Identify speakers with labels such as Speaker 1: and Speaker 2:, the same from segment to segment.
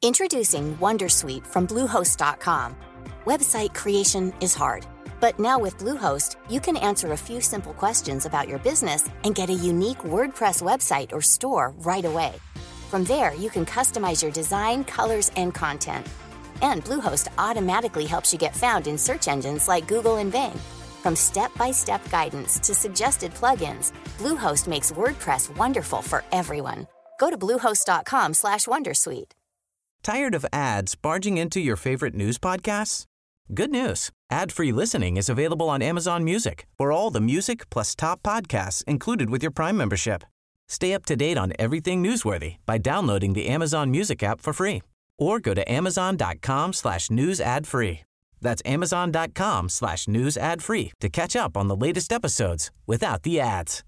Speaker 1: Introducing Wondersuite from Bluehost.com. Website creation is hard, but now with Bluehost, you can answer a few simple questions about your business and get a unique WordPress website or store right away. From there, you can customize your design, colors, and content. And Bluehost automatically helps you get found in search engines like Google and Bing. From step-by-step guidance to suggested plugins, Bluehost makes WordPress wonderful for everyone. Go to bluehost.com/wondersuite.
Speaker 2: Tired of ads barging into your favorite news podcasts? Good news. Ad-free listening is available on Amazon Music for all the music plus top podcasts included with your Prime membership. Stay up to date on everything newsworthy by downloading the Amazon Music app for free or go to amazon.com/news ad free. That's amazon.com/news ad free to catch up on the latest episodes without the ads.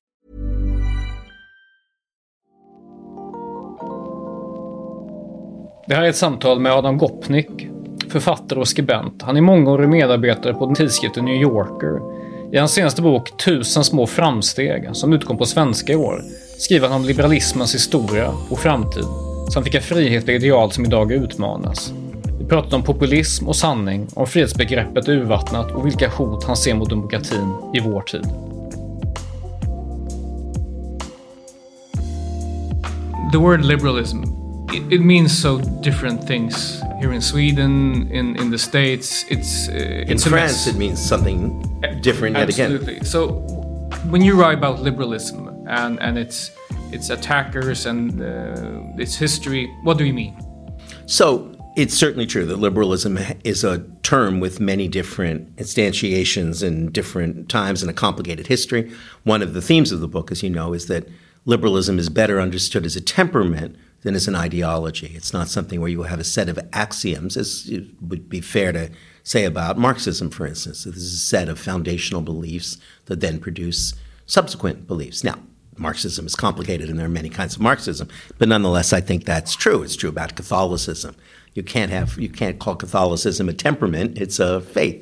Speaker 3: Det här är ett samtal med Adam Gopnik, författare och skribent. Han är mångårig medarbetare på tidskriften New Yorker. I hans senaste bok 1000 små framsteg, som utkom på svenska i år, skriver han om liberalismens historia och framtid, samt vilka frihetliga ideal som idag utmanas. Vi pratat om populism och sanning, om frihetsbegreppet urvattnat och vilka hot han ser mot demokratin i vår tid. The word liberalism, it means so different things here in Sweden, in the States.
Speaker 4: In France, it means something different yet again.
Speaker 3: Absolutely. So, when you write about liberalism and its attackers and its history, what do you mean?
Speaker 4: So, it's certainly true that liberalism is a term with many different instantiations in different times and a complicated history. One of the themes of the book, as you know, is that liberalism is better understood as a temperament than as an ideology. It's not something where you have a set of axioms, as it would be fair to say about Marxism, for instance. This is a set of foundational beliefs that then produce subsequent beliefs. Now, Marxism is complicated and there are many kinds of Marxism, but nonetheless, I think that's true. It's true about Catholicism. You can't call Catholicism a temperament. It's a faith,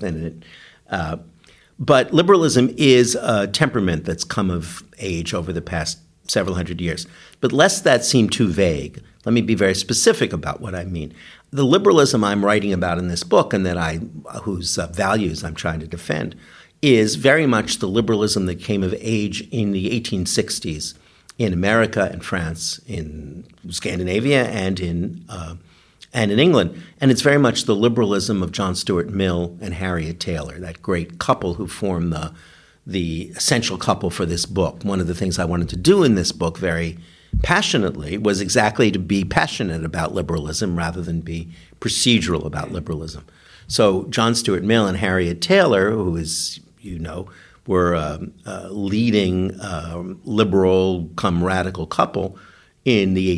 Speaker 4: but liberalism is a temperament that's come of age over the past several hundred years. But lest that seem too vague, let me be very specific about what I mean. The liberalism I'm writing about in this book and whose values I'm trying to defend is very much the liberalism that came of age in the 1860s in America and France, in Scandinavia, and in England. And it's very much the liberalism of John Stuart Mill and Harriet Taylor, that great couple who formed the essential couple for this book. One of the things I wanted to do in this book very passionately was exactly to be passionate about liberalism rather than be procedural about liberalism. So John Stuart Mill and Harriet Taylor, who is, you know, were a leading liberal come radical couple in the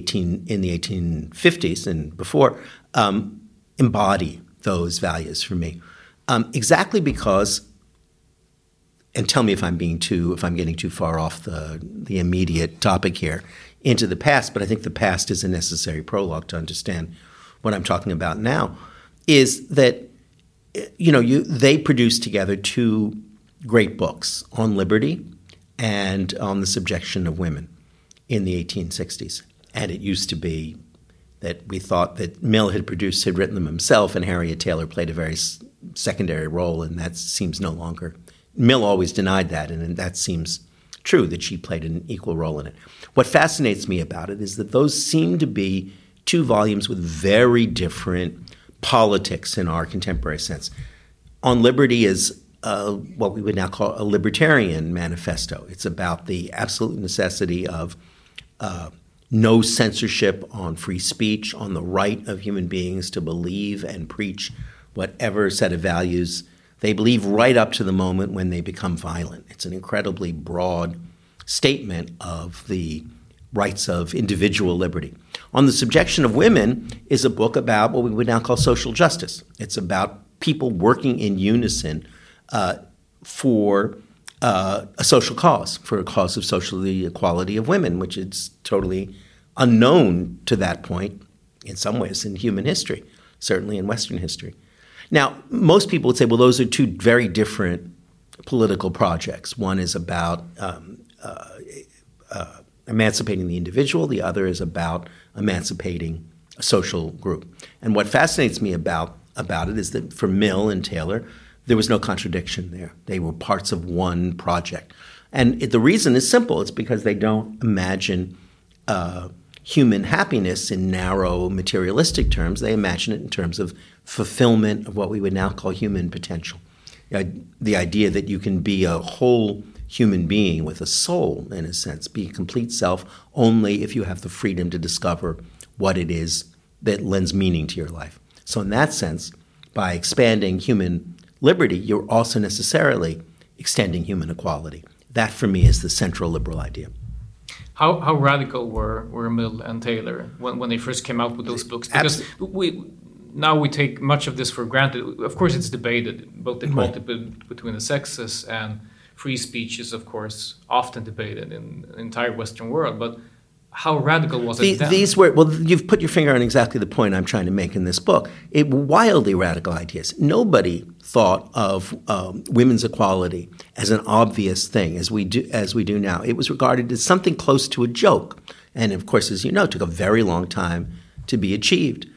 Speaker 4: 1850s and before, embody those values for me. Exactly because, and tell me if I'm getting too far off the immediate topic here into the past, but I think the past is a necessary prologue to understand what I'm talking about now, is that, you know, they produced together two great books on liberty and on the subjection of women in the 1860s. And it used to be that we thought that Mill had written them himself, and Harriet Taylor played a very secondary role, and that seems no longer. Mill always denied that, and that seems true, that she played an equal role in it. What fascinates me about it is that those seem to be two volumes with very different politics in our contemporary sense. On Liberty is what we would now call a libertarian manifesto. It's about the absolute necessity of no censorship on free speech, on the right of human beings to believe and preach whatever set of values they believe right up to the moment when they become violent. It's an incredibly broad statement of the rights of individual liberty. On the Subjection of Women is a book about what we would now call social justice. It's about people working in unison for a social cause, for a cause of social equality of women, which is totally unknown to that point in some ways in human history, certainly in Western history. Now, most people would say, well, those are two very different political projects. One is about emancipating the individual. The other is about emancipating social group. And what fascinates me about it is that for Mill and Taylor, there was no contradiction there. They were parts of one project. And the reason is simple. It's because they don't imagine human happiness in narrow materialistic terms. They imagine it in terms of fulfillment of what we would now call human potential. The idea that you can be a whole human being with a soul, in a sense, be a complete self only if you have the freedom to discover what it is that lends meaning to your life. So in that sense, by expanding human liberty, you're also necessarily extending human equality. That, for me, is the central liberal idea.
Speaker 3: How radical were Mill and Taylor when they first came out with those books? Because we take much of this for granted. Of course, it's debated. Both the equality between the sexes and free speech is, of course, often debated in the entire Western world. But how radical was it then?
Speaker 4: These were, well, you've put your finger on exactly the point I'm trying to make in this book. Wildly radical ideas. Nobody thought of women's equality as an obvious thing as we do now. It was regarded as something close to a joke. And of course, as you know, it took a very long time to be achieved.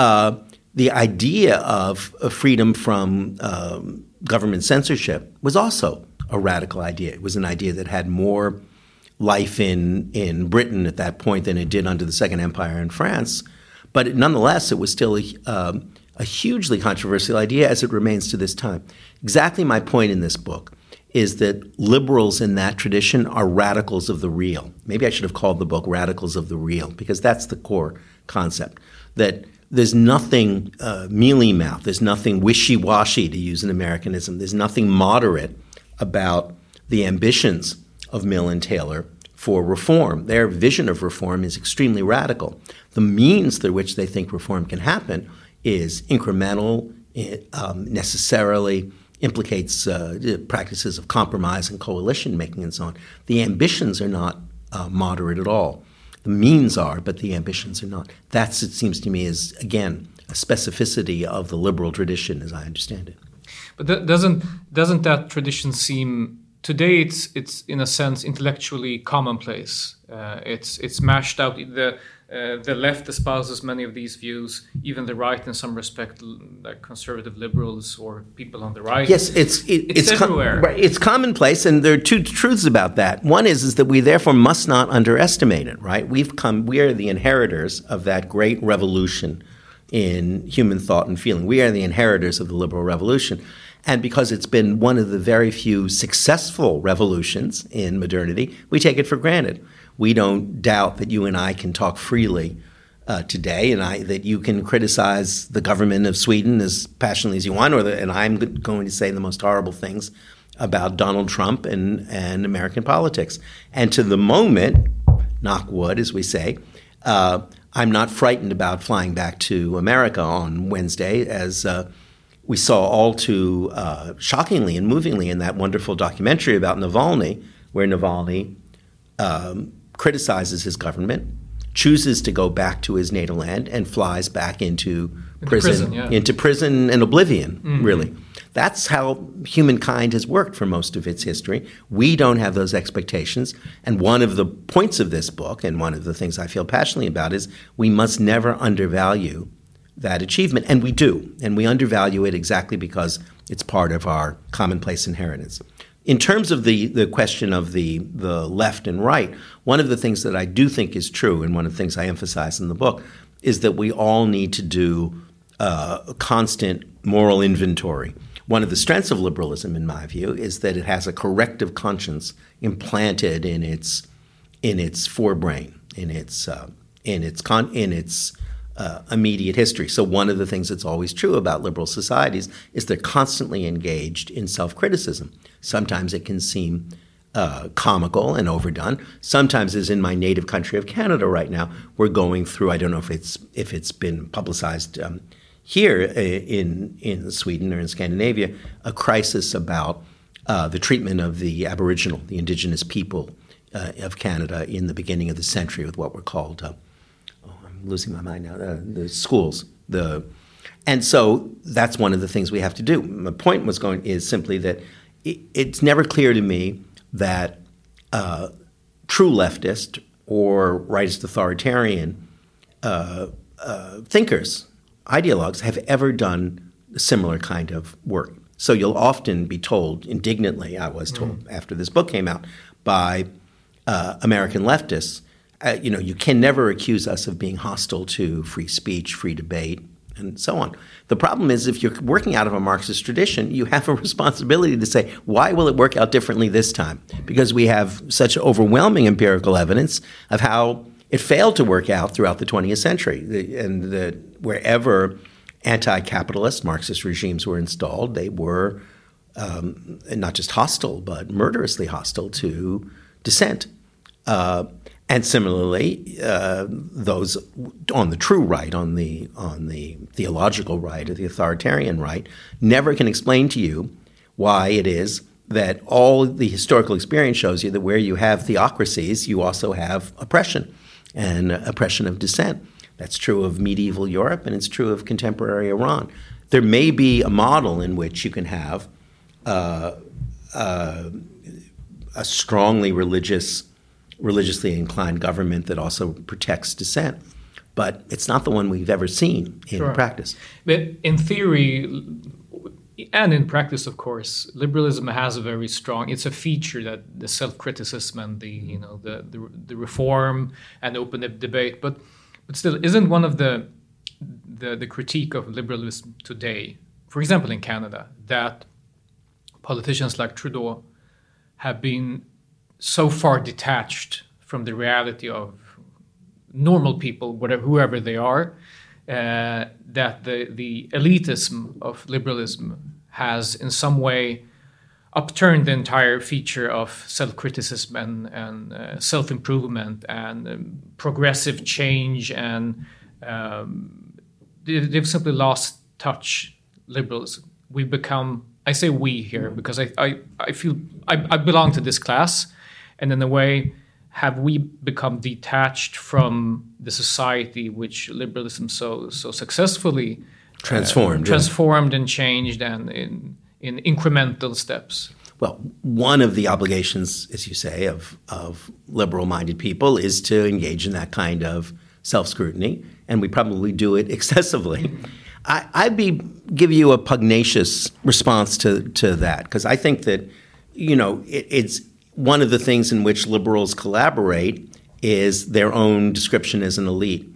Speaker 4: The idea of freedom from government censorship was also a radical idea. It was an idea that had more life in Britain at that point than it did under the Second Empire in France. But nonetheless, it was still a hugely controversial idea, as it remains to this time. Exactly my point in this book is that liberals in that tradition are radicals of the real. Maybe I should have called the book Radicals of the Real, because that's the core concept, that there's nothing mealy-mouthed, there's nothing wishy-washy, to use an Americanism, there's nothing moderate about the ambitions of Mill and Taylor for reform. Their vision of reform is extremely radical. The means through which they think reform can happen is incremental, necessarily implicates practices of compromise and coalition making and so on. The ambitions are not moderate at all. The means are, but the ambitions are not. That's, it seems to me, is, again, a specificity of the liberal tradition as I understand it.
Speaker 3: But doesn't that tradition seem... Today, it's in a sense intellectually commonplace. It's mashed out. The left espouses many of these views. Even the right, in some respect, like conservative liberals or people on the right.
Speaker 4: Yes, it's
Speaker 3: everywhere.
Speaker 4: Right, it's commonplace, and there are two truths about that. One is that we therefore must not underestimate it. Right, we are the inheritors of that great revolution in human thought and feeling. We are the inheritors of the liberal revolution. And because it's been one of the very few successful revolutions in modernity, we take it for granted. We don't doubt that you and I can talk freely today, and that you can criticize the government of Sweden as passionately as you want, and I'm going to say the most horrible things about Donald Trump and American politics. And to the moment, knock wood, as we say, I'm not frightened about flying back to America on Wednesday, as we saw all too shockingly and movingly in that wonderful documentary about Navalny, where Navalny criticizes his government, chooses to go back to his natal land, and flies back into prison and oblivion, really. That's how humankind has worked for most of its history. We don't have those expectations. And one of the points of this book, and one of the things I feel passionately about, is we must never undervalue that achievement. And we do. And we undervalue it exactly because it's part of our commonplace inheritance. In terms of the question of the left and right, one of the things that I do think is true, and one of the things I emphasize in the book, is that we all need to do a constant moral inventory. One of the strengths of liberalism, in my view, is that it has a corrective conscience implanted in its forebrain, in its immediate history. So one of the things that's always true about liberal societies is they're constantly engaged in self-criticism. Sometimes it can seem comical and overdone. Sometimes, as in my native country of Canada right now, we're going through, I don't know if it's been publicized here in Sweden or in Scandinavia, a crisis about the treatment of the Aboriginal, the indigenous people of Canada in the beginning of the century with what were called, I'm losing my mind now, the schools. And so that's one of the things we have to do. My point is simply that it's never clear to me that true leftist or rightist authoritarian thinkers, ideologues, have ever done a similar kind of work. So you'll often be told, indignantly, I was told after this book came out, by American leftists, you can never accuse us of being hostile to free speech, free debate, and so on. The problem is if you're working out of a Marxist tradition, you have a responsibility to say, why will it work out differently this time? Because we have such overwhelming empirical evidence of how it failed to work out throughout the 20th century. Wherever anti-capitalist Marxist regimes were installed, they were not just hostile, but murderously hostile to dissent. And similarly, those on the true right, on the theological right or the authoritarian right, never can explain to you why it is that all the historical experience shows you that where you have theocracies, you also have oppression and oppression of dissent. That's true of medieval Europe, and it's true of contemporary Iran. There may be a model in which you can have a strongly religiously inclined government that also protects dissent. But it's not the one we've ever seen in practice.
Speaker 3: But in theory, and in practice, of course, liberalism has a very strong, it's a feature that the self-criticism and the reform and open debate, but still, isn't one of the critique of liberalism today, for example in Canada, that politicians like Trudeau have been so far detached from the reality of normal people, whoever they are, that the elitism of liberalism has in some way upturned the entire feature of self-criticism and self-improvement and progressive change, and they've simply lost touch, liberalism. We've become, I say we here because I feel I belong to this class, and in a way, have we become detached from the society which liberalism so successfully transformed and changed, and in incremental steps?
Speaker 4: Well, one of the obligations, as you say, of liberal-minded people is to engage in that kind of self-scrutiny, and we probably do it excessively. I'd give you a pugnacious response to that, because I think that, it's one of the things in which liberals collaborate is their own description as an elite.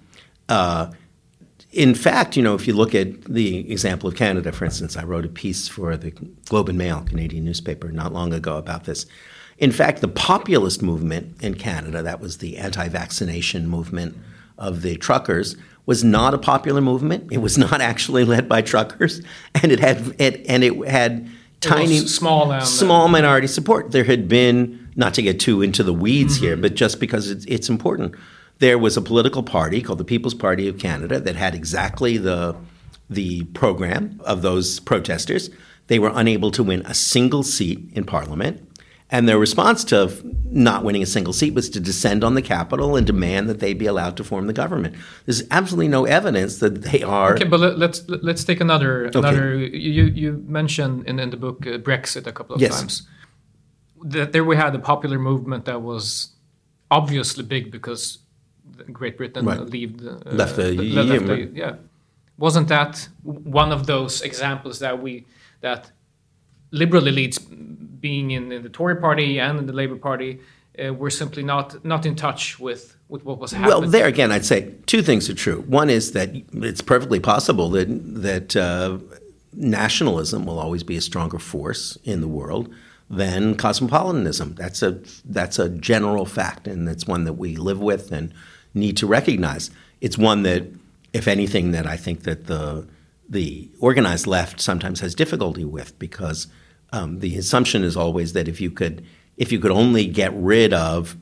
Speaker 4: In fact, if you look at the example of Canada, for instance, I wrote a piece for the Globe and Mail, Canadian newspaper, not long ago about this. In fact, the populist movement in Canada, that was the anti-vaccination movement of the truckers, was not a popular movement. It was not actually led by truckers, and it had tiny, small minority support. There had been, not to get too into the weeds here, but just because it's important, there was a political party called the People's Party of Canada that had exactly the program of those protesters. They were unable to win a single seat in Parliament, and their response to not winning a single seat was to descend on the Capitol and demand that they be allowed to form the government. There's absolutely no evidence that they are.
Speaker 3: Okay, but let's take another. You mentioned in the book Brexit a couple of times. That there we had a popular movement that was obviously big because Great Britain left the EU. Yeah, wasn't that one of those examples that liberal elites, being in the Tory party and in the Labour Party, were simply not in touch with what was happening?
Speaker 4: Well, there again, I'd say two things are true. One is that it's perfectly possible that nationalism will always be a stronger force in the world than cosmopolitanism. That's a general fact, and it's one that we live with and need to recognize. It's one that, if anything, that I think that the organized left sometimes has difficulty with, because the assumption is always that if you could only get rid of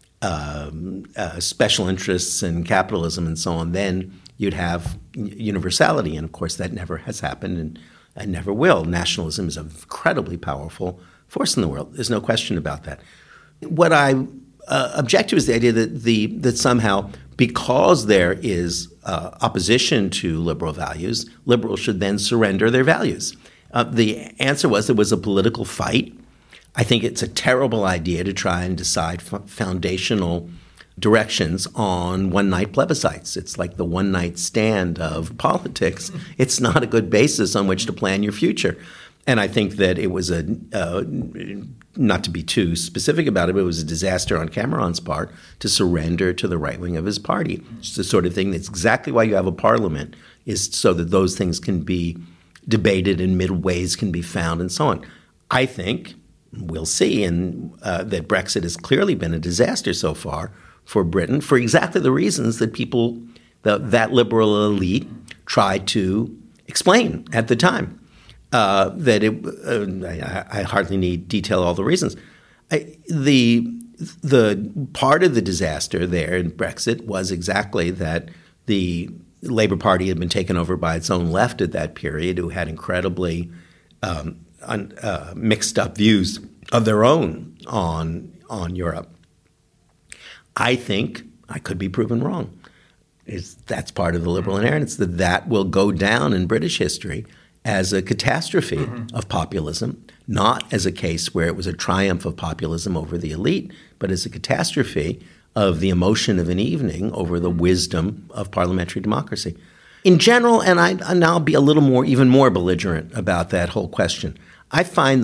Speaker 4: special interests and capitalism and so on, then you'd have universality. And of course, that never has happened and never will. Nationalism is an incredibly powerful force in the world. There's no question about that. What I object to is the idea that somehow, because there is opposition to liberal values, liberals should then surrender their values. The answer was there was a political fight. I think it's a terrible idea to try and decide foundational directions on one-night plebiscites. It's like the one-night stand of politics. It's not a good basis on which to plan your future. And I think that it was not to be too specific about it, but it was a disaster on Cameron's part to surrender to the right wing of his party. It's the sort of thing that's exactly why you have a parliament, is so that those things can be debated and middle ways can be found and so on. I think we'll see, and that Brexit has clearly been a disaster so far for Britain for exactly the reasons that people, that liberal elite, tried to explain at the time. I hardly need detail all the reasons. The part of the disaster there in Brexit was exactly that the Labour Party had been taken over by its own left at that period, who had incredibly mixed up views of their own on Europe. I think I could be proven wrong. That's part of the liberal inheritance, that will go down in British history as a catastrophe of populism, not as a case where it was a triumph of populism over the elite, but as a catastrophe of the emotion of an evening over the wisdom of parliamentary democracy. In general, and I'll be a little even more belligerent about that whole question, I find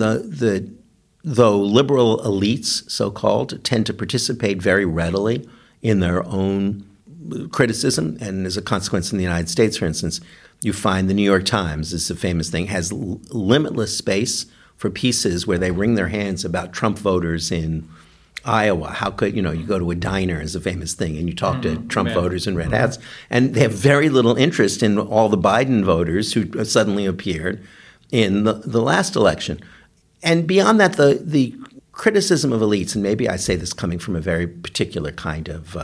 Speaker 4: though liberal elites, so-called, tend to participate very readily in their own criticism, and as a consequence in the United States, for instance, you find the New York Times, is a famous thing, has limitless space for pieces where they wring their hands about Trump voters in Iowa. How could, you go to a diner is a famous thing, and you talk to Trump voters in red hats, and they have very little interest in all the Biden voters who suddenly appeared in the last election. And beyond that, the criticism of elites, and maybe I say this coming from a very particular kind of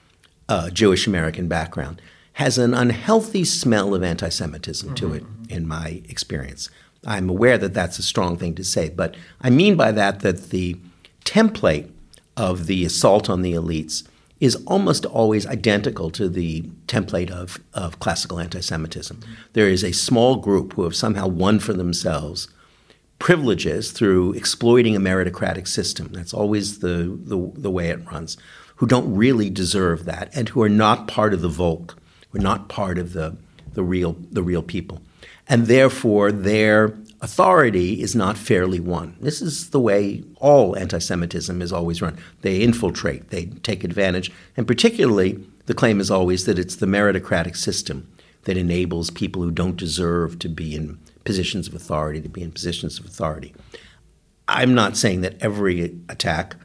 Speaker 4: Jewish American background, has an unhealthy smell of anti-Semitism to it, in my experience. I'm aware that that's a strong thing to say, but I mean by that the template of the assault on the elites is almost always identical to the template of classical anti-Semitism. There is a small group who have somehow won for themselves privileges through exploiting a meritocratic system. That's always the way it runs, who don't really deserve that and who are not part of the Volk. We're not part of the real people. And therefore, their authority is not fairly won. This is the way all anti-Semitism is always run. They infiltrate, they take advantage, and particularly the claim is always that it's the meritocratic system that enables people who don't deserve to be in positions of authority to be in positions of authority. I'm not saying that every attack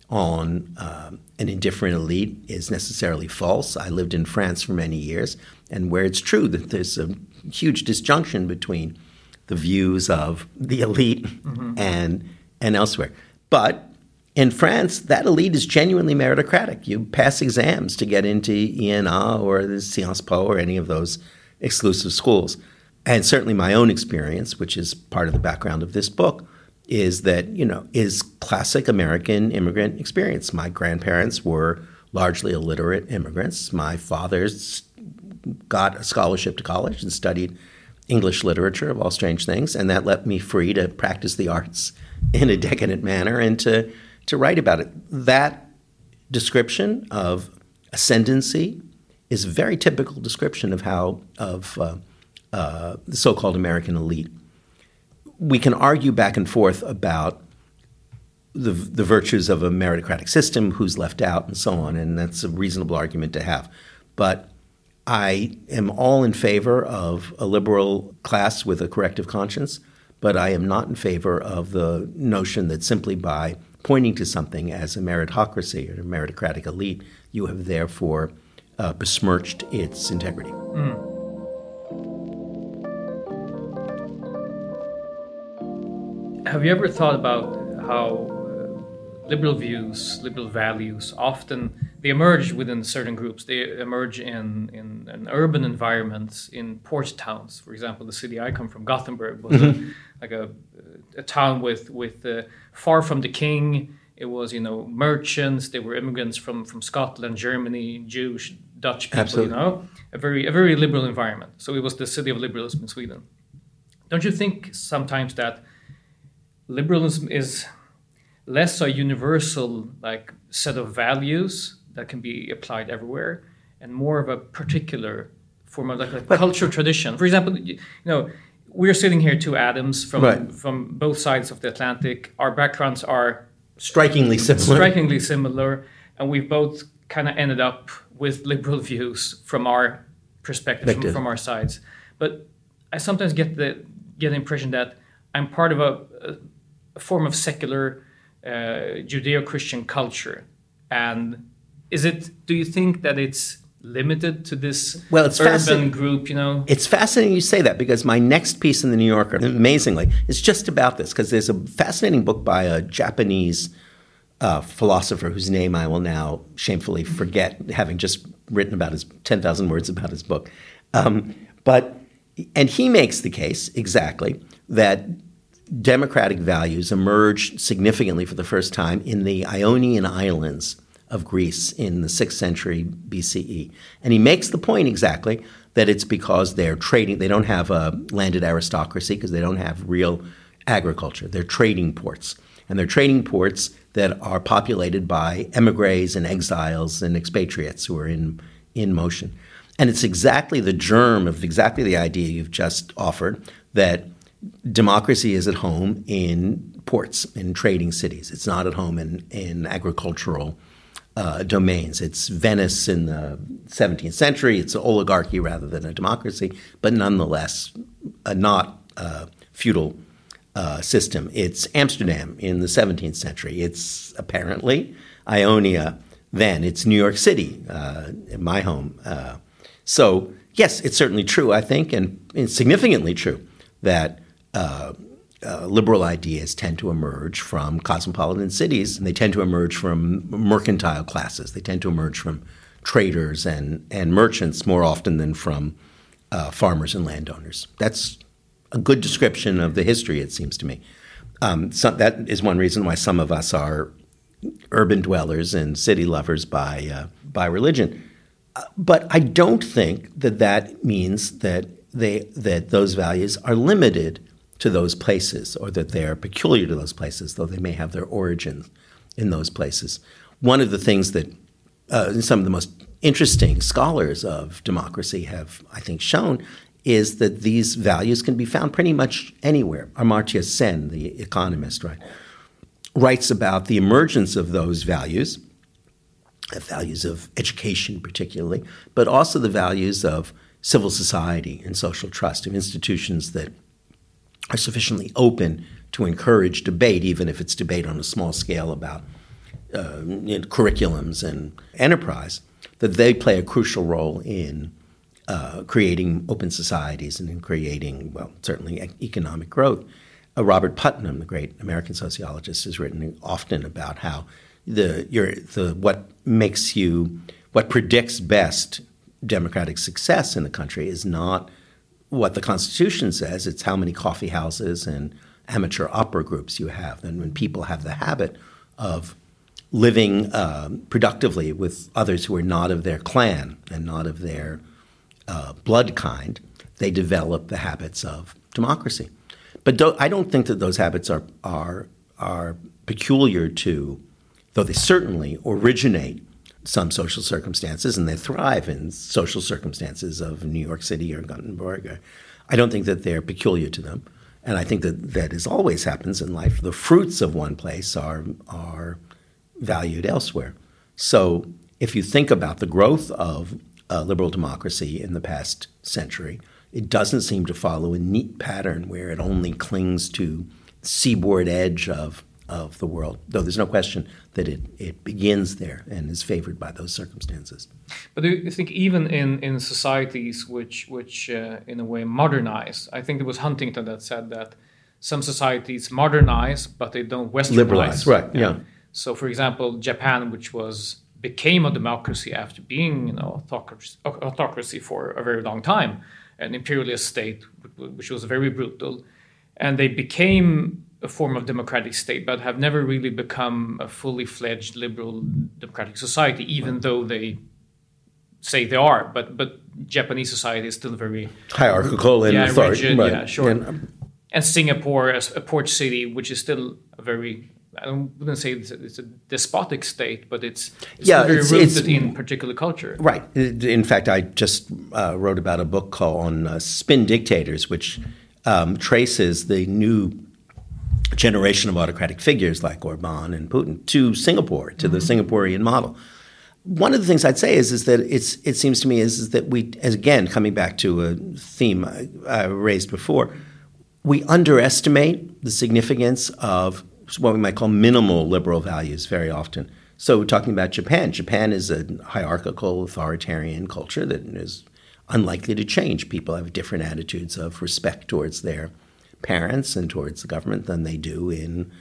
Speaker 4: on an indifferent elite is necessarily false. I lived in France for many years, and where it's true that there's a huge disjunction between the views of the elite and elsewhere. But in France, that elite is genuinely meritocratic. You pass exams to get into ENA or the Sciences Po or any of those exclusive schools. And certainly my own experience, which is part of the background of this book, is that, is classic American immigrant experience. My grandparents were largely illiterate immigrants. My father's got a scholarship to college and studied English literature, of all strange things, and that left me free to practice the arts in a decadent manner and to write about it. That description of ascendancy is a very typical description of the so-called American elite. We can argue back and forth about the virtues of a meritocratic system, who's left out, and so on, and that's a reasonable argument to have. But I am all in favor of a liberal class with a corrective conscience, but I am not in favor of the notion that simply by pointing to something as a meritocracy or a meritocratic elite, you have therefore besmirched its integrity.
Speaker 3: Have you ever thought about how liberal views, liberal values, often they emerge within certain groups? They emerge in urban environments, in port towns. For example, the city I come from, Gothenburg, was a town with far from the king. It was, merchants. They were immigrants from Scotland, Germany, Jewish, Dutch people.
Speaker 4: Absolutely.
Speaker 3: A very liberal environment. So it was the city of liberalism in Sweden. Don't you think sometimes that liberalism is less a universal set of values that can be applied everywhere, and more of a particular form of like a cultural tradition. For example, we're sitting here, two Adams from both sides of the Atlantic. Our backgrounds are
Speaker 4: strikingly
Speaker 3: similar, and we've both kind of ended up with liberal views from our perspective, from our sides. But I sometimes get the impression that I'm part of a form of secular Judeo-Christian culture. And do you think that it's limited to this urban group,
Speaker 4: It's fascinating you say that, because my next piece in the New Yorker, amazingly, is just about this, because there's a fascinating book by a Japanese philosopher whose name I will now shamefully forget, having just written about his 10,000 words about his book. And he makes the case exactly that democratic values emerged significantly for the first time in the Ionian Islands of Greece in the 6th century BCE. And he makes the point exactly that it's because they're trading. They don't have a landed aristocracy because they don't have real agriculture. They're trading ports. And they're trading ports that are populated by emigres and exiles and expatriates who are in motion. And it's exactly the germ of exactly the idea you've just offered, that democracy is at home in ports, in trading cities. It's not at home in agricultural domains. It's Venice in the 17th century. It's an oligarchy rather than a democracy, but nonetheless not a feudal system. It's Amsterdam in the 17th century. It's apparently Ionia then. It's New York City, my home. So yes, it's certainly true, I think, and it's significantly true that liberal ideas tend to emerge from cosmopolitan cities, and they tend to emerge from mercantile classes. They tend to emerge from traders and merchants more often than from farmers and landowners. That's a good description of the history, it seems to me. So that is one reason why some of us are urban dwellers and city lovers by religion. But I don't think that means that those values are limited to those places, or that they are peculiar to those places, though they may have their origins in those places. One of the things that some of the most interesting scholars of democracy have, I think, shown is that these values can be found pretty much anywhere. Amartya Sen, the economist, writes about the emergence of those values of education particularly, but also the values of civil society and social trust, of institutions that are sufficiently open to encourage debate, even if it's debate on a small scale about curriculums and enterprise, that they play a crucial role in creating open societies and in creating, certainly economic growth. Robert Putnam, the great American sociologist, has written often about how what predicts best democratic success in the country is not what the Constitution says, it's how many coffee houses and amateur opera groups you have. And when people have the habit of living productively with others who are not of their clan and not of their blood kind, they develop the habits of democracy. But I don't think that those habits are peculiar to, though they certainly originate some social circumstances, and they thrive in social circumstances of New York City or Gothenburg. I don't think that they're peculiar to them. And I think that as always happens in life, the fruits of one place are valued elsewhere. So if you think about the growth of liberal democracy in the past century, it doesn't seem to follow a neat pattern where it only clings to the seaboard edge of the world, though there's no question that it begins there and is favored by those circumstances.
Speaker 3: But do you think even in societies which in a way modernize, I think it was Huntington that said that some societies modernize, but they don't westernize.
Speaker 4: Liberalize, right, yeah.
Speaker 3: So for example, Japan, which became a democracy after being autocracy for a very long time, an imperialist state which was very brutal, and they became a form of democratic state, but have never really become a fully fledged liberal democratic society, even though they say they are. But Japanese society is still very
Speaker 4: hierarchical and
Speaker 3: rigid.
Speaker 4: Right.
Speaker 3: Yeah, sure. And Singapore, as a port city, which is still a very I wouldn't say it's a despotic state, but it's very rooted in particular culture.
Speaker 4: Right. In fact, I just wrote about a book on spin dictators, which traces the new generation of autocratic figures like Orban and Putin to Singapore, to the Singaporean model. One of the things I'd say is that it seems to me is that we, as again, coming back to a theme I raised before, we underestimate the significance of what we might call minimal liberal values very often. So we're talking about Japan. Japan is a hierarchical, authoritarian culture that is unlikely to change. People have different attitudes of respect towards their parents and towards the government than they do in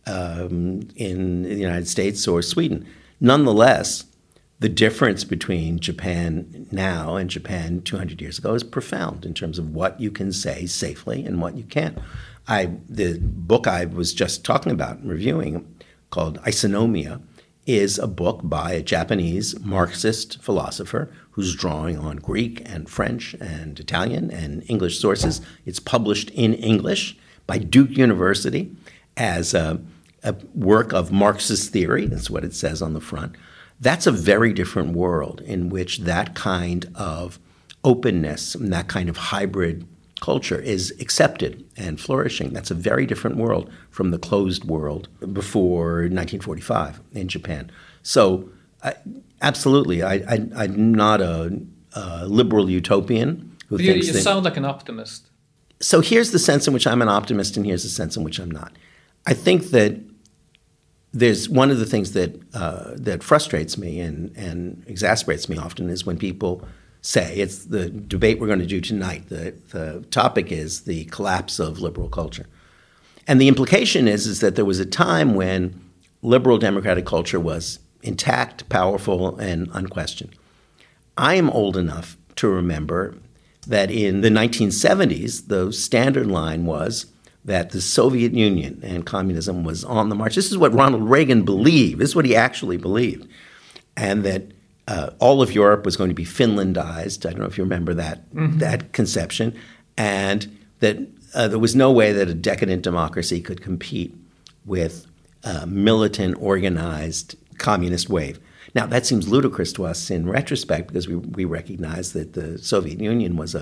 Speaker 4: the United States or Sweden. Nonetheless, the difference between Japan now and Japan 200 years ago is profound in terms of what you can say safely and what you can't. The book I was just talking about and reviewing, called Isonomia, is a book by a Japanese Marxist philosopher who's drawing on Greek and French and Italian and English sources. It's published in English by Duke University as a work of Marxist theory. That's what it says on the front. That's a very different world in which that kind of openness and that kind of hybrid culture is accepted and flourishing. That's a very different world from the closed world before 1945 in Japan. So absolutely, I'm not a liberal utopian who thinks
Speaker 3: you
Speaker 4: that... You
Speaker 3: sound like an optimist.
Speaker 4: So here's the sense in which I'm an optimist and here's the sense in which I'm not. I think that there's one of the things that frustrates me and exasperates me often is when people say, it's the debate we're going to do tonight, the topic is the collapse of liberal culture. And the implication is that there was a time when liberal democratic culture was intact, powerful, and unquestioned. I am old enough to remember that in the 1970s, the standard line was that the Soviet Union and communism was on the march. This is what Ronald Reagan believed. This is what he actually believed. And that all of Europe was going to be Finlandized. I don't know if you remember that conception. And that there was no way that a decadent democracy could compete with a militant, organized communist wave. Now, that seems ludicrous to us in retrospect because we recognize that the Soviet Union was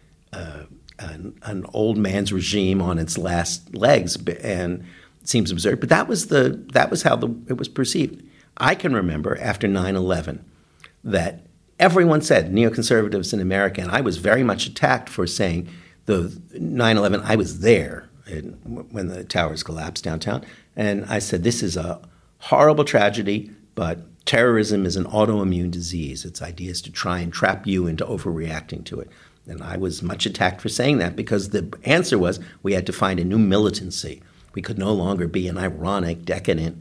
Speaker 4: an old man's regime on its last legs, and it seems absurd. But that was how it was perceived. I can remember after 9/11 that everyone said, neoconservatives in America, and I was very much attacked for saying the 9/11. I was there when the towers collapsed downtown, and I said this is a horrible tragedy, but terrorism is an autoimmune disease. Its idea is to try and trap you into overreacting to it. And I was much attacked for saying that because the answer was we had to find a new militancy. We could no longer be an ironic, decadent,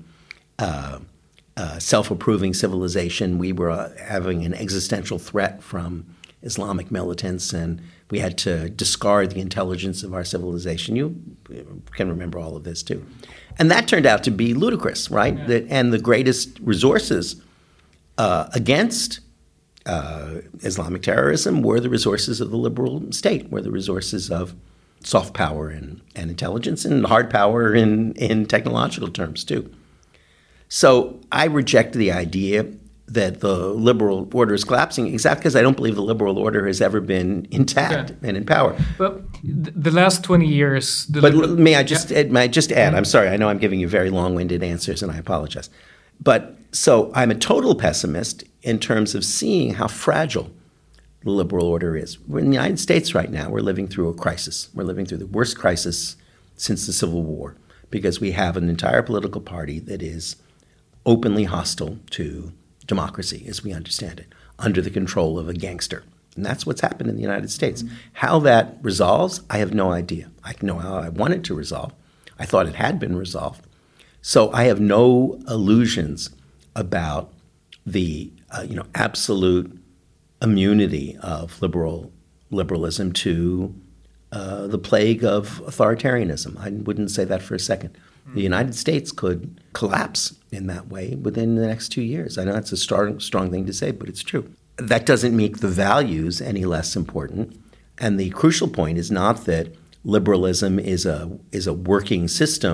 Speaker 4: self-approving civilization. We were having an existential threat from Islamic militants, and we had to discard the intelligence of our civilization. You can remember all of this too. And that turned out to be ludicrous, right? Yeah. And the greatest resources against Islamic terrorism were the resources of the liberal state, were the resources of soft power and intelligence, and hard power in technological terms too. So I reject the idea that the liberal order is collapsing, exactly because I don't believe the liberal order has ever been intact and in power.
Speaker 3: But the last 20 years...
Speaker 4: May I just add, I'm sorry, I know I'm giving you very long-winded answers and I apologize. But so I'm a total pessimist in terms of seeing how fragile the liberal order is. We're in the United States right now. We're living through a crisis. We're living through the worst crisis since the Civil War because we have an entire political party that is openly hostile to democracy as we understand it, under the control of a gangster. And that's what's happened in the United States. Mm-hmm. How that resolves, I have no idea. I know how I want it to resolve. I thought it had been resolved. So I have no illusions about the absolute immunity of liberalism to the plague of authoritarianism. I wouldn't say that for a second. The United States could collapse in that way within the next 2 years. I know that's a strong thing to say, but it's true. That doesn't make the values any less important. And the crucial point is not that liberalism is a working system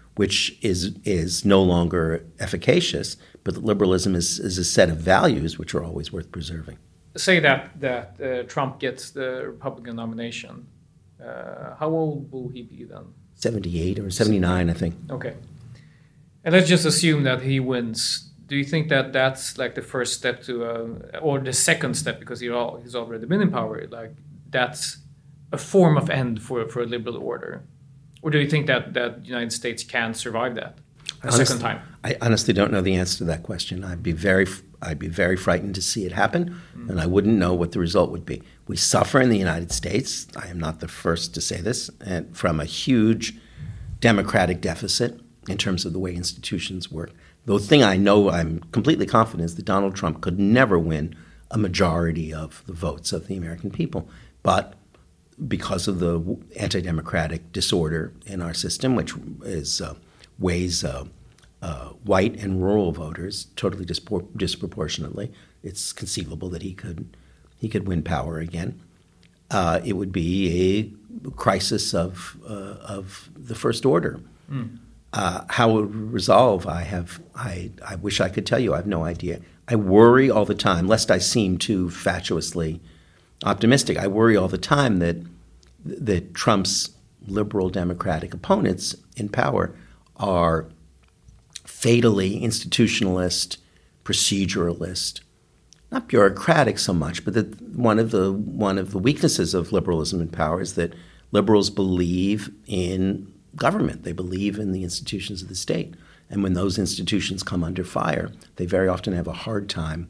Speaker 4: which is no longer efficacious, but that liberalism is a set of values which are always worth preserving.
Speaker 3: Say that Trump gets the Republican nomination. How old will he be then?
Speaker 4: 78 or 79, I think.
Speaker 3: Okay. And let's just assume that he wins. Do you think that that's like the first step to, or the second step, because he's already been in power, like that's a form of end for a liberal order? Or do you think that the United States can survive that second time?
Speaker 4: I honestly don't know the answer to that question. I'd be very frightened to see it happen, and I wouldn't know what the result would be. We suffer in the United States, I am not the first to say this, and from a huge democratic deficit in terms of the way institutions work. The thing I know I'm completely confident is that Donald Trump could never win a majority of the votes of the American people. But because of the anti-democratic disorder in our system, which weighs white and rural voters totally disproportionately, it's conceivable that he could win power again. It would be a crisis of the first order. How it would resolve, I wish I could tell you. I have no idea. I worry all the time, lest I seem too fatuously optimistic. I worry all the time that Trump's liberal democratic opponents in power are fatally institutionalist, proceduralist, not bureaucratic so much, but that one of the weaknesses of liberalism in power is that liberals believe in government. They believe in the institutions of the state. And when those institutions come under fire, they very often have a hard time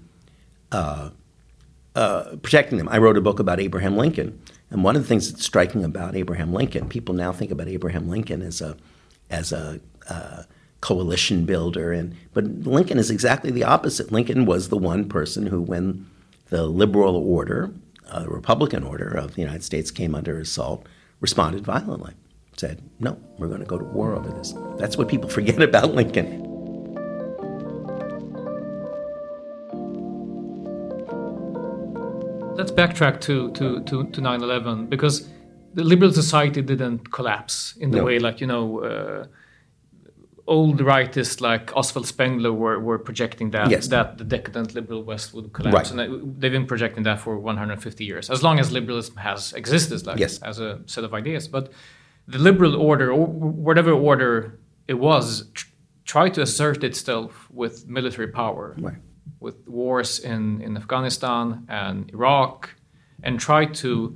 Speaker 4: protecting them. I wrote a book about Abraham Lincoln. And one of the things that's striking about Abraham Lincoln, people now think about Abraham Lincoln as a coalition builder. But Lincoln is exactly the opposite. Lincoln was the one person who, when the liberal order, the Republican order of the United States came under assault, responded violently. Said, no, we're going to go to war over this. That's what people forget about Lincoln.
Speaker 3: Let's backtrack to 9/11, because the liberal society didn't collapse in the way like, old rightists like Oswald Spengler were projecting that that the decadent liberal West would collapse. Right. And they've been projecting that for 150 years, as long as liberalism has existed as a set of ideas. But the liberal order, or whatever order it was, tried to assert itself with military power, with wars in Afghanistan and Iraq, and tried to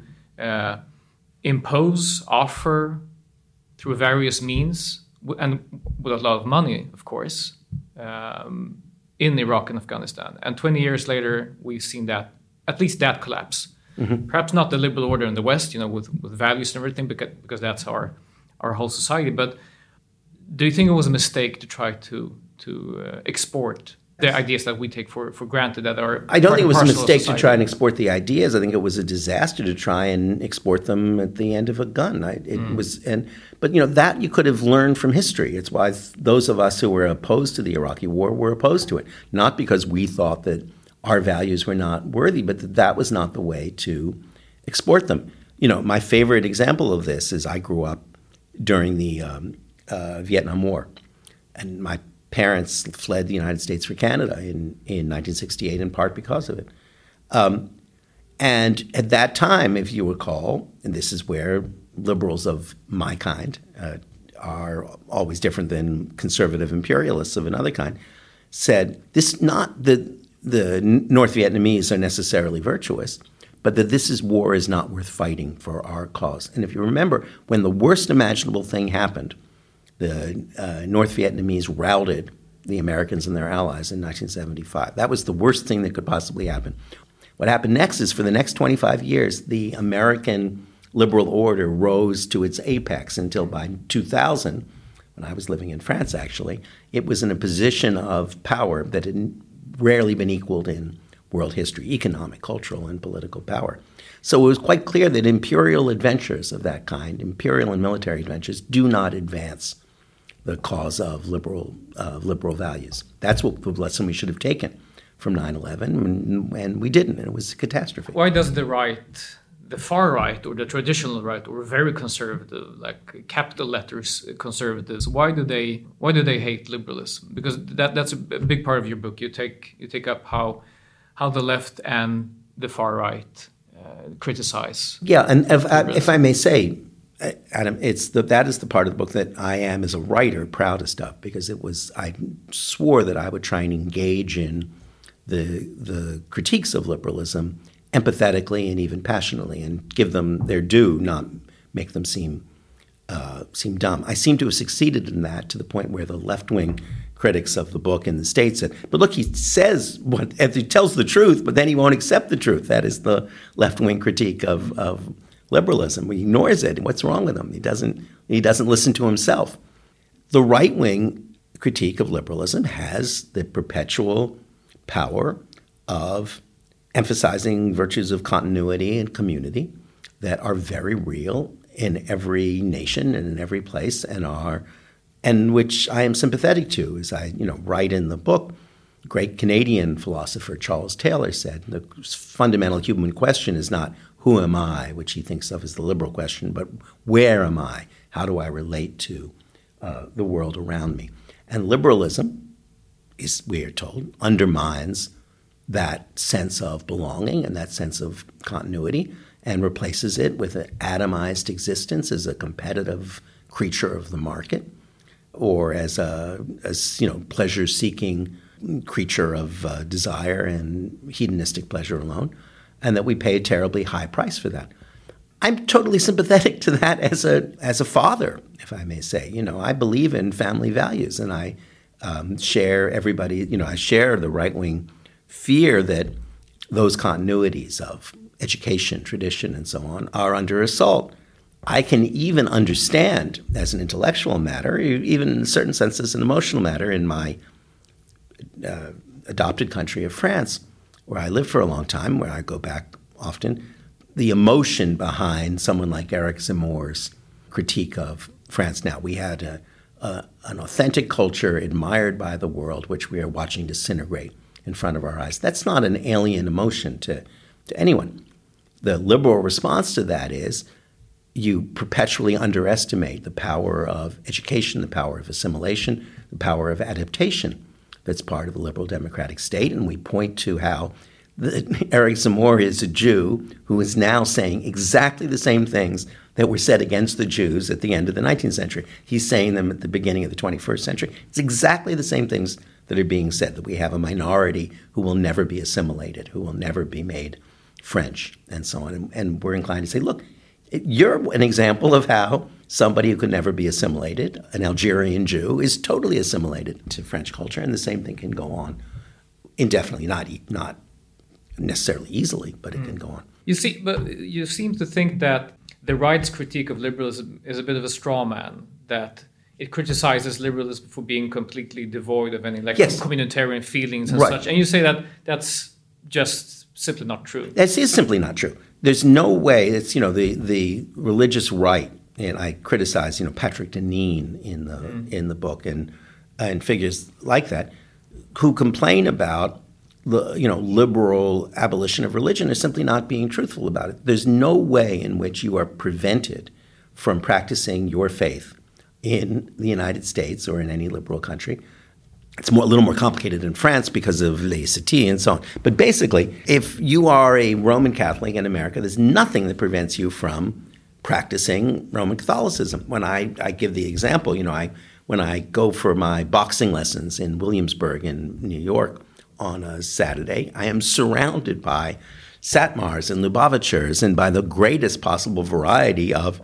Speaker 3: offer through various means, and with a lot of money, of course, in Iraq and Afghanistan. And 20 years later, we've seen that, at least that collapse. Mm-hmm. Perhaps not the liberal order in the West, with values and everything, because that's our whole society. But do you think it was a mistake to try to export the ideas that we take for granted that are?
Speaker 4: I don't think it was a mistake to try and export the ideas. I think it was a disaster to try and export them at the end of a gun. But that you could have learned from history. It's why those of us who were opposed to the Iraqi war were opposed to it, not because we thought that our values were not worthy, but that was not the way to export them. My favorite example of this is I grew up during the Vietnam War, and my parents fled the United States for Canada in 1968, in part because of it. And at that time, if you recall, and this is where liberals of my kind are always different than conservative imperialists of another kind, said this not that the North Vietnamese are necessarily virtuous, but that this war is not worth fighting for our cause. And if you remember, when the worst imaginable thing happened, the North Vietnamese routed the Americans and their allies in 1975. That was the worst thing that could possibly happen. What happened next is, for the next 25 years, the American liberal order rose to its apex until by 2000, when I was living in France actually, it was in a position of power that had rarely been equaled in world history, economic, cultural, and political power. So it was quite clear that imperial adventures of that kind, imperial and military adventures, do not advance the cause of liberal values. That's what the lesson we should have taken from 9/11, and we didn't, and it was a catastrophe.
Speaker 3: Why does the right the far right or the traditional right or very conservative, like capital letters conservatives, why do they hate liberalism? Because that's a big part of your book. You take up how the left and the far right criticize.
Speaker 4: Yeah, and if I may say, Adam, that is the part of the book that I am, as a writer, proudest of, because I swore that I would try and engage in the critiques of liberalism empathetically and even passionately, and give them their due, not make them seem dumb. I seem to have succeeded in that, to the point where the left-wing critics of the book in the States said, but look, he says he tells the truth, but then he won't accept the truth. That is the left-wing critique of liberalism. He ignores it. What's wrong with him? He doesn't listen to himself. The right-wing critique of liberalism has the perpetual power of emphasizing virtues of continuity and community that are very real in every nation and in every place, and which I am sympathetic to. As I write in the book, great Canadian philosopher Charles Taylor said, the fundamental human question is not who am I, which he thinks of as the liberal question, but where am I? How do I relate to the world around me? And liberalism, we are told, undermines that sense of belonging and that sense of continuity, and replaces it with an atomized existence as a competitive creature of the market, or as pleasure-seeking creature of desire and hedonistic pleasure alone, and that we pay a terribly high price for that. I'm totally sympathetic to that as a father, if I may say. I believe in family values, and I share I share the right-wing fear that those continuities of education, tradition, and so on are under assault. I can even understand, as an intellectual matter, even in a certain sense as an emotional matter, in my adopted country of France, where I lived for a long time, where I go back often, the emotion behind someone like Eric Zemmour's critique of France. Now, we had an authentic culture admired by the world, which we are watching disintegrate in front of our eyes. That's not an alien emotion to anyone. The liberal response to that is you perpetually underestimate the power of education, the power of assimilation, the power of adaptation that's part of the liberal democratic state. And we point to how Eric Zemmour is a Jew who is now saying exactly the same things that were said against the Jews at the end of the 19th century. He's saying them at the beginning of the 21st century. It's exactly the same things that are being said, that we have a minority who will never be assimilated, who will never be made French, and so on. And we're inclined to say, look, you're an example of how somebody who could never be assimilated, an Algerian Jew, is totally assimilated to French culture, and the same thing can go on indefinitely, not necessarily easily, but it can go on.
Speaker 3: But you seem to think that the right's critique of liberalism is a bit of a straw man, that it criticizes liberalism for being completely devoid of any communitarian feelings and such. And you say that that's just simply not true.
Speaker 4: That is simply not true. There's no way. It's the religious right, and I criticize Patrick Deneen in the book and figures like that, who complain about the liberal abolition of religion is simply not being truthful about it. There's no way in which you are prevented from practicing your faith in the United States or in any liberal country. It's a little more complicated in France because of laïcité and so on. But basically, if you are a Roman Catholic in America, there's nothing that prevents you from practicing Roman Catholicism. When I give the example, when I go for my boxing lessons in Williamsburg in New York on a Saturday, I am surrounded by Satmars and Lubavitchers and by the greatest possible variety of,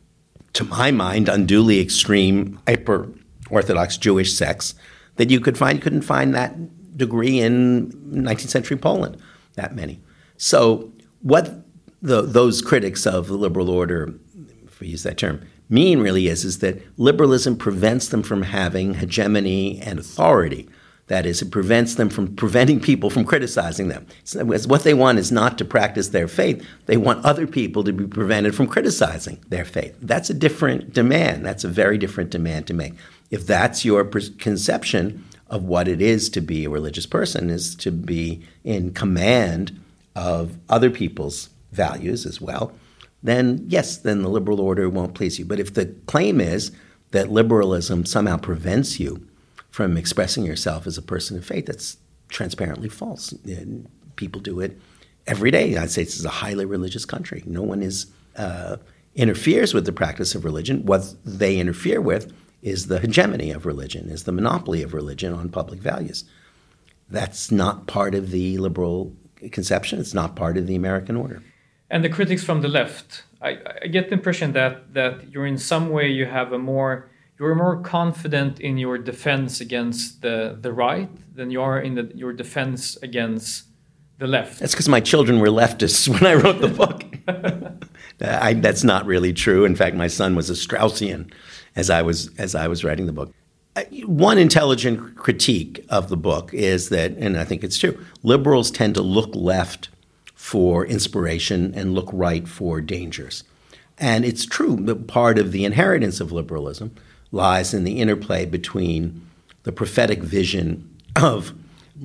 Speaker 4: to my mind, unduly extreme, hyper-Orthodox Jewish sects that you could find. You couldn't find that degree in 19th century Poland, that many. So what those critics of the liberal order, if we use that term, mean really is that liberalism prevents them from having hegemony and authority. That is, it prevents them from preventing people from criticizing them. So what they want is not to practice their faith. They want other people to be prevented from criticizing their faith. That's a different demand. That's a very different demand to make. If that's your conception of what it is to be a religious person, is to be in command of other people's values as well, then yes, then the liberal order won't please you. But if the claim is that liberalism somehow prevents you from expressing yourself as a person of faith, that's transparently false. And people do it every day. The United States is a highly religious country. No one interferes with the practice of religion. What they interfere with is the hegemony of religion, is the monopoly of religion on public values. That's not part of the liberal conception. It's not part of the American order.
Speaker 3: And the critics from the left, I get the impression that you're in some way you're more confident in your defense against the right than you are in your defense against the left.
Speaker 4: That's because my children were leftists when I wrote the book. That's not really true. In fact, my son was a Straussian as I was writing the book. One intelligent critique of the book is that, and I think it's true, liberals tend to look left for inspiration and look right for dangers. And it's true that part of the inheritance of liberalism lies in the interplay between the prophetic vision of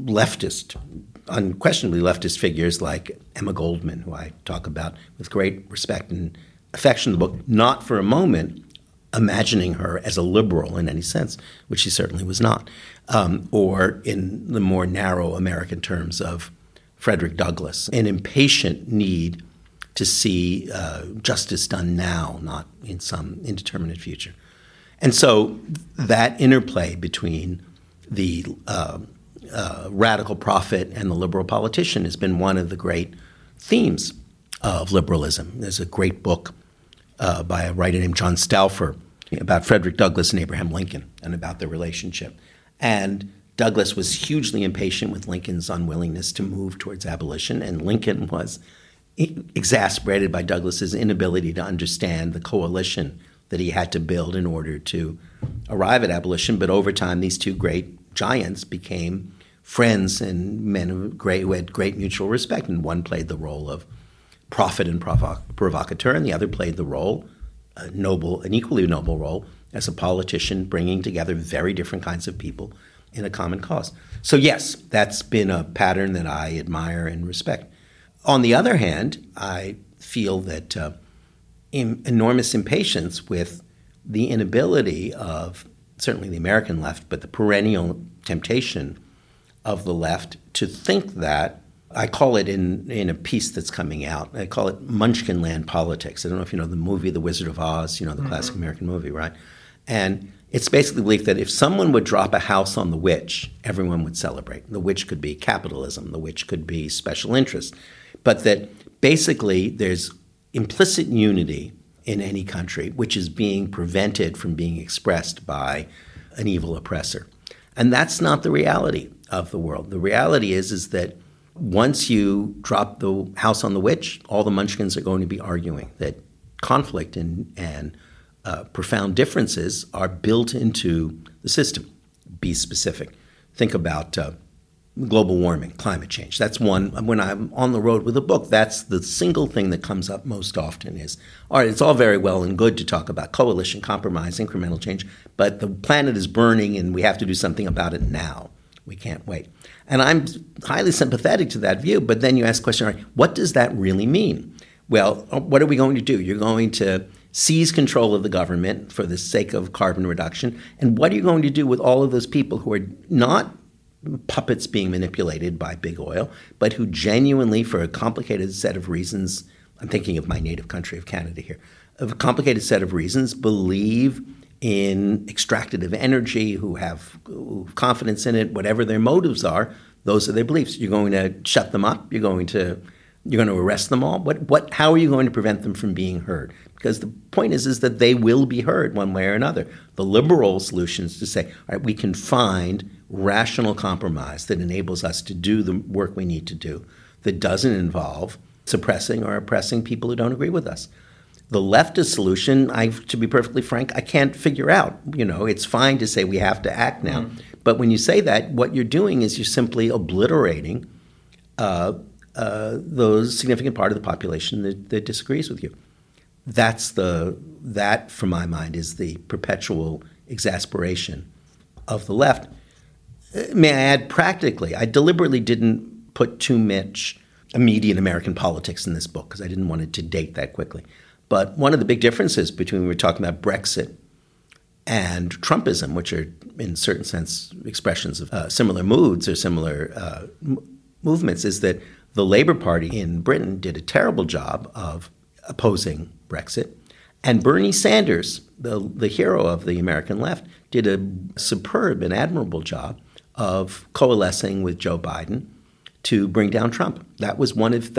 Speaker 4: unquestionably leftist figures like Emma Goldman, who I talk about with great respect and affection in the book, not for a moment imagining her as a liberal in any sense, which she certainly was not, or in the more narrow American terms of Frederick Douglass, an impatient need to see justice done now, not in some indeterminate future. And so that interplay between the radical prophet and the liberal politician has been one of the great themes of liberalism. There's a great book by a writer named John Stauffer about Frederick Douglass and Abraham Lincoln and about their relationship. And Douglass was hugely impatient with Lincoln's unwillingness to move towards abolition, and Lincoln was exasperated by Douglass's inability to understand the coalition that he had to build in order to arrive at abolition. But over time, these two great giants became friends and men who had great mutual respect, and one played the role of prophet and provocateur, and the other played the role, an equally noble role, as a politician bringing together very different kinds of people in a common cause. So yes, that's been a pattern that I admire and respect. On the other hand, I feel that enormous impatience with the inability of certainly the American left, but the perennial temptation of the left to think that, I call it in a piece that's coming out, I call it Munchkinland politics. I don't know if you know the movie The Wizard of Oz, the classic American movie, right? And it's basically the belief that if someone would drop a house on the witch, everyone would celebrate. The witch could be capitalism. The witch could be special interest. But that basically there's implicit unity in any country, which is being prevented from being expressed by an evil oppressor. And that's not the reality of the world. The reality is that once you drop the house on the witch, all the munchkins are going to be arguing that conflict and profound differences are built into the system. Be specific. Think about global warming, climate change. That's one. When I'm on the road with a book, that's the single thing that comes up most often is, all right, it's all very well and good to talk about coalition, compromise, incremental change, but the planet is burning and we have to do something about it now. We can't wait. And I'm highly sympathetic to that view, but then you ask the question, all right, what does that really mean? Well, what are we going to do? You're going to seize control of the government for the sake of carbon reduction. And what are you going to do with all of those people who are not puppets being manipulated by big oil, but who genuinely, for a complicated set of reasons, I'm thinking of my native country of Canada here, of a complicated set of reasons, believe in extractive energy, who have confidence in it, whatever their motives are, those are their beliefs. You're going to shut them up. You're going to arrest them all. How are you going to prevent them from being heard? Because the point is that they will be heard one way or another. The liberal solution is to say, all right, we can find rational compromise that enables us to do the work we need to do that doesn't involve suppressing or oppressing people who don't agree with us. The leftist solution, to be perfectly frank, I can't figure out. It's fine to say we have to act now. But when you say that, what you're doing is you're simply obliterating those significant part of the population that disagrees with you. That, from my mind, is the perpetual exasperation of the left. May I add, practically, I deliberately didn't put too much immediate American politics in this book because I didn't want it to date that quickly. But one of the big differences between when we were talking about Brexit and Trumpism, which are in a certain sense expressions of similar moods or similar movements, is that the Labour Party in Britain did a terrible job of opposing Brexit. And Bernie Sanders, the hero of the American left, did a superb and admirable job of coalescing with Joe Biden to bring down Trump. That was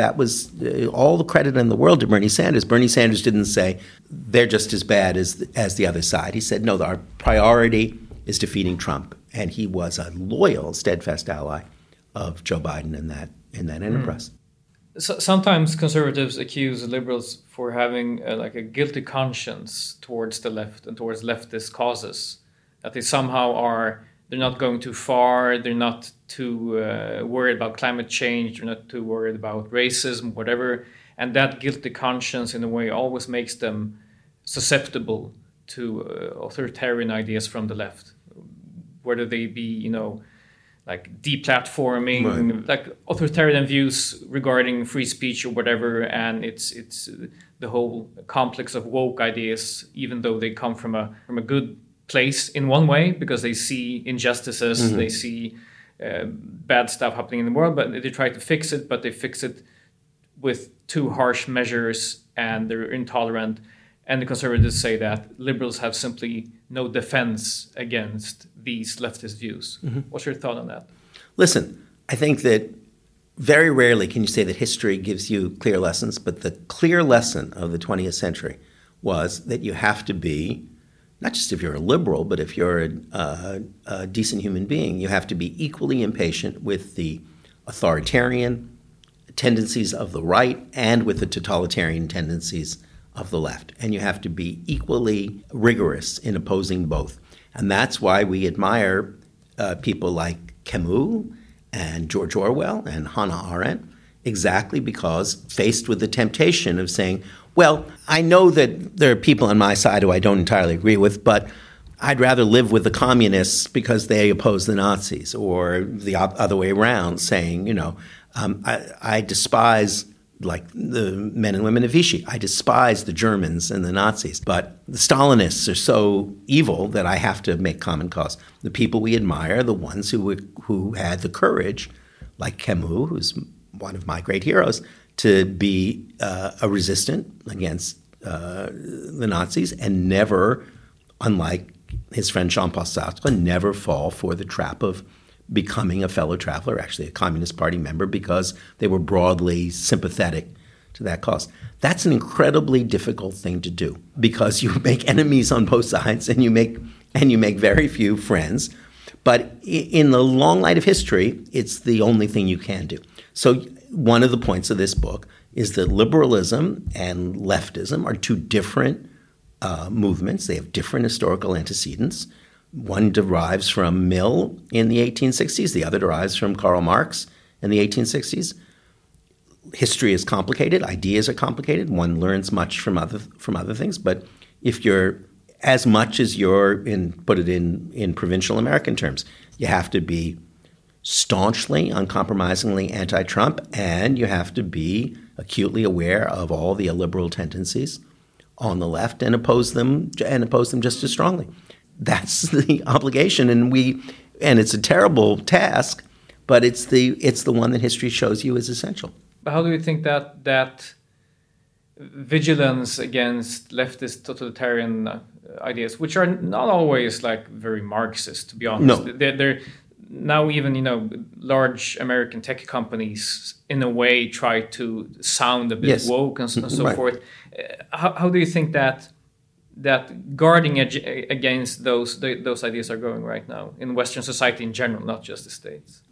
Speaker 4: all the credit in the world to Bernie Sanders. Bernie Sanders didn't say they're just as bad as the other side. He said, no, our priority is defeating Trump. And he was a loyal, steadfast ally of Joe Biden in that enterprise.
Speaker 3: So, sometimes conservatives accuse liberals for having a guilty conscience towards the left and towards leftist causes, that they somehow they're not going too far, they're not too worried about climate change, they're not too worried about racism, whatever, and that guilty conscience in a way always makes them susceptible to authoritarian ideas from the left, whether they be, like deplatforming, right, like authoritarian views regarding free speech or whatever, and it's the whole complex of woke ideas, even though they come from a good place in one way because they see injustices, mm-hmm, they see bad stuff happening in the world, but they try to fix it, but they fix it with too harsh measures and they're intolerant. And the conservatives say that liberals have simply no defense against these leftist views. Mm-hmm. What's your thought on that?
Speaker 4: Listen, I think that very rarely can you say that history gives you clear lessons, but the clear lesson of the 20th century was that you have to be, not just if you're a liberal, but if you're a decent human being, you have to be equally impatient with the authoritarian tendencies of the right and with the totalitarian tendencies of the left. And you have to be equally rigorous in opposing both. And that's why we admire people like Camus and George Orwell and Hannah Arendt, exactly because faced with the temptation of saying, well, I know that there are people on my side who I don't entirely agree with, but I'd rather live with the communists because they oppose the Nazis, or the other way around, saying, I despise like the men and women of Vichy. I despise the Germans and the Nazis, but the Stalinists are so evil that I have to make common cause. The people we admire are the ones who had the courage, like Camus, who's one of my great heroes, to be a resistant against the Nazis and never, unlike his friend Jean-Paul Sartre, never fall for the trap of becoming a fellow traveler, actually a Communist Party member, because they were broadly sympathetic to that cause. That's an incredibly difficult thing to do because you make enemies on both sides and you make very few friends. But in the long light of history, it's the only thing you can do. So one of the points of this book is that liberalism and leftism are two different movements. They have different historical antecedents. One derives from Mill in the 1860s. The other derives from Karl Marx in the 1860s. History is complicated. Ideas are complicated. One learns much from other things. But if you're as much as you're put it in provincial American terms, you have to be staunchly, uncompromisingly anti-Trump, and you have to be acutely aware of all the illiberal tendencies on the left and oppose them just as strongly. That's the obligation, and it's a terrible task, but it's the one that history shows you is essential.
Speaker 3: But how do you think that vigilance against leftist totalitarian ideas, which are not always like very Marxist, to be honest,
Speaker 4: no.
Speaker 3: they're now even large American tech companies in a way try to sound a bit
Speaker 4: yes.
Speaker 3: woke and so
Speaker 4: right.
Speaker 3: forth. How do you think that guarding against those ideas are going right now in Western society in general, not just the States?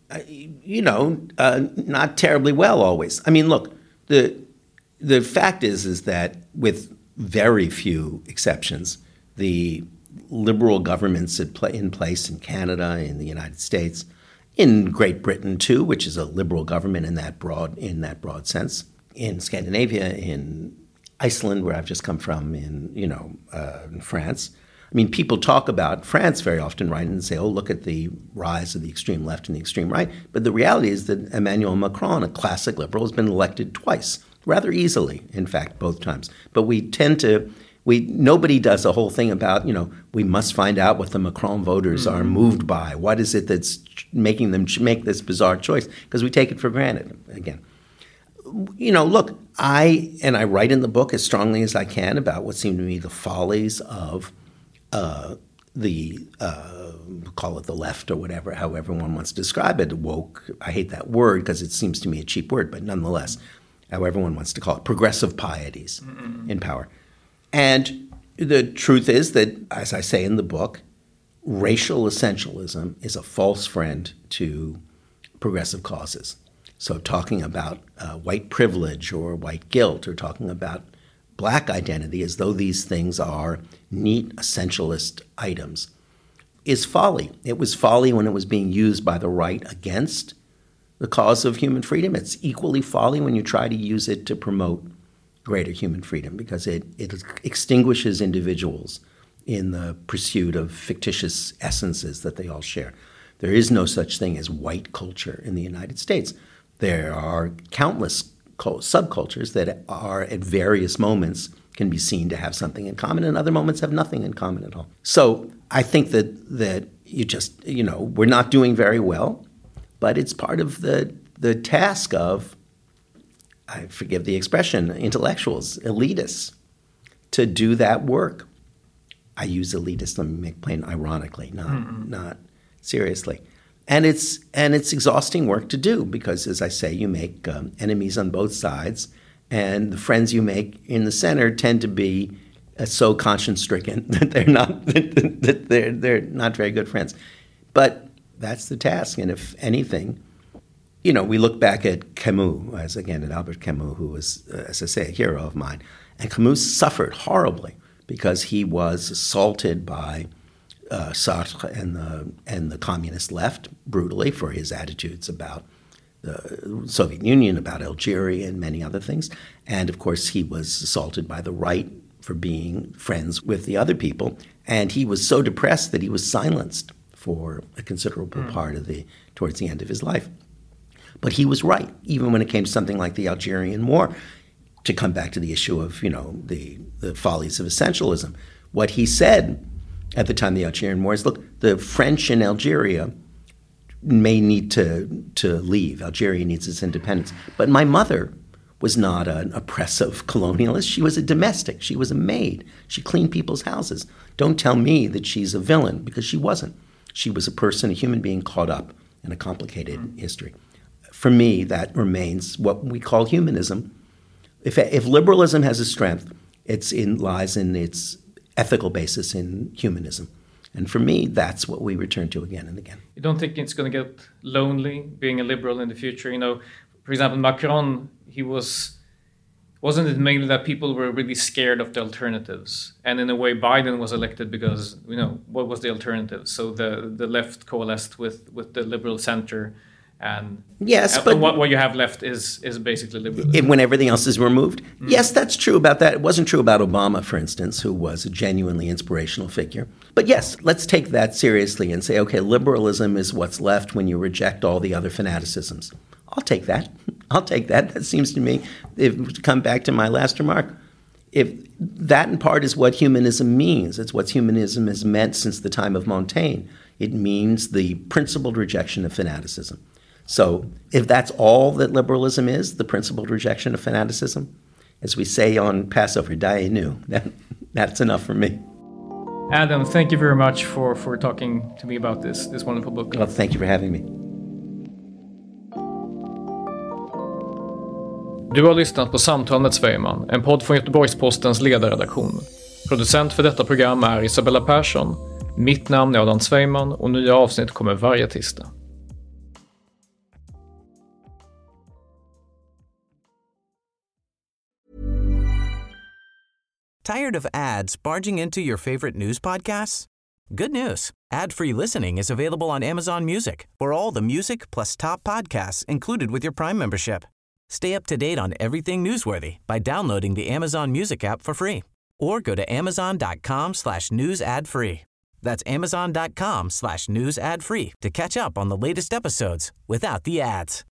Speaker 4: Not terribly well always. I mean, look, the fact is that with very few exceptions, the liberal governments in place in Canada, in the United States, in Great Britain too, which is a liberal government in that broad sense, in Scandinavia, in Iceland, where I've just come from, in France, I mean, people talk about France very often, right, and say, oh, look at the rise of the extreme left and the extreme right. But the reality is that Emmanuel Macron, a classic liberal, has been elected twice, rather easily, in fact, both times. But nobody does a whole thing about, we must find out what the Macron voters are moved by. What is it that's making them make this bizarre choice? Because we take it for granted, again. Look, I write in the book as strongly as I can about what seem to me the follies of call it the left or whatever, however one wants to describe it, woke. I hate that word because it seems to me a cheap word, but nonetheless, however one wants to call it, progressive pieties in power. And the truth is that, as I say in the book, racial essentialism is a false friend to progressive causes. So talking about white privilege or white guilt or talking about black identity as though these things are neat essentialist items is folly. It was folly when it was being used by the right against the cause of human freedom. It's equally folly when you try to use it to promote greater human freedom because it extinguishes individuals in the pursuit of fictitious essences that they all share. There is no such thing as white culture in the United States. There are countless subcultures that are at various moments can be seen to have something in common and other moments have nothing in common at all. So I think that you just, we're not doing very well, but it's part of the task of, I forgive the expression, intellectuals, elitists, to do that work. I use elitist, let me make plain ironically, not seriously. And it's exhausting work to do because, as I say, you make enemies on both sides, and the friends you make in the center tend to be so conscience-stricken that they're not very good friends. But that's the task, and if anything, we look back at Camus, at Albert Camus, who was, as I say, a hero of mine, and Camus suffered horribly because he was assaulted by Sartre and the communist left brutally for his attitudes about the Soviet Union, about Algeria, and many other things. And of course, he was assaulted by the right for being friends with the other people. And he was so depressed that he was silenced for a considerable part of towards the end of his life. But he was right, even when it came to something like the Algerian War, to come back to the issue of, the follies of essentialism. What he said at the time of the Algerian War is, look, the French in Algeria may need to leave. Algeria needs its independence. But my mother was not an oppressive colonialist. She was a domestic. She was a maid. She cleaned people's houses. Don't tell me that she's a villain, because she wasn't. She was a person, a human being caught up in a complicated history. For me, that remains what we call humanism. If liberalism has a strength, lies in its ethical basis in humanism. And for me, that's what we return to again and again.
Speaker 3: You don't think it's going to get lonely being a liberal in the future? For example, Macron, wasn't it mainly that people were really scared of the alternatives? And in a way, Biden was elected because, what was the alternative? So the left coalesced with the liberal center. And but what you have left is basically liberalism.
Speaker 4: When everything else is removed? Yes, that's true about that. It wasn't true about Obama, for instance, who was a genuinely inspirational figure. But yes, let's take that seriously and say, okay, liberalism is what's left when you reject all the other fanaticisms. I'll take that. That seems to me, to come back to my last remark, if that in part is what humanism means, it's what humanism has meant since the time of Montaigne. It means the principled rejection of fanaticism. So if that's all that liberalism is, the principled rejection of fanaticism, as we say on Passover, Dayenu, that's enough for me.
Speaker 3: Adam, thank you very much for talking to me about this wonderful book.
Speaker 4: Well, thank you for having me.
Speaker 3: Du har lyssnat på Samtal med Svejman, en podd från Göteborgs-Postens ledarredaktion. Producent för detta program är Isabella Persson. Mitt namn är Adam Svejman och nya avsnitt kommer varje tisdag.
Speaker 2: Tired of ads barging into your favorite news podcasts? Good news. Ad-free listening is available on Amazon Music for all the music plus top podcasts included with your Prime membership. Stay up to date on everything newsworthy by downloading the Amazon Music app for free or go to amazon.com/news ad free. That's amazon.com/news ad free to catch up on the latest episodes without the ads.